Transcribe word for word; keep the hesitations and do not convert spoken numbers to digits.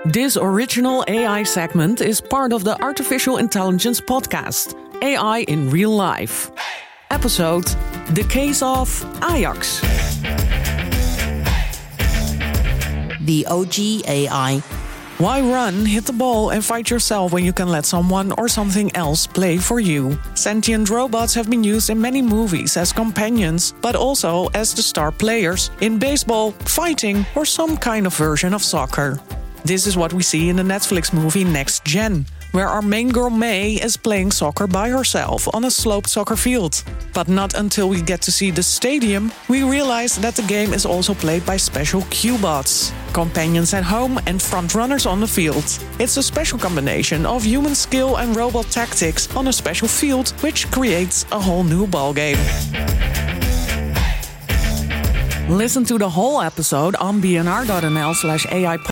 This original A I segment is part of the Artificial Intelligence podcast, A I in Real Life. Episode, The Case of Ajax. The O G A I. Why run, hit the ball and fight yourself when you can let someone or something else play for you? Sentient robots have been used in many movies as companions, but also as the star players in baseball, fighting, or some kind of version of soccer. This is what we see in the Netflix movie Next Gen, where our main girl May is playing soccer by herself on a sloped soccer field. But not until we get to see the stadium, we realize that the game is also played by special Q-bots, companions at home and frontrunners on the field. It's a special combination of human skill and robot tactics on a special field, which creates a whole new ballgame. Listen to the whole episode on bnr.nl slash AI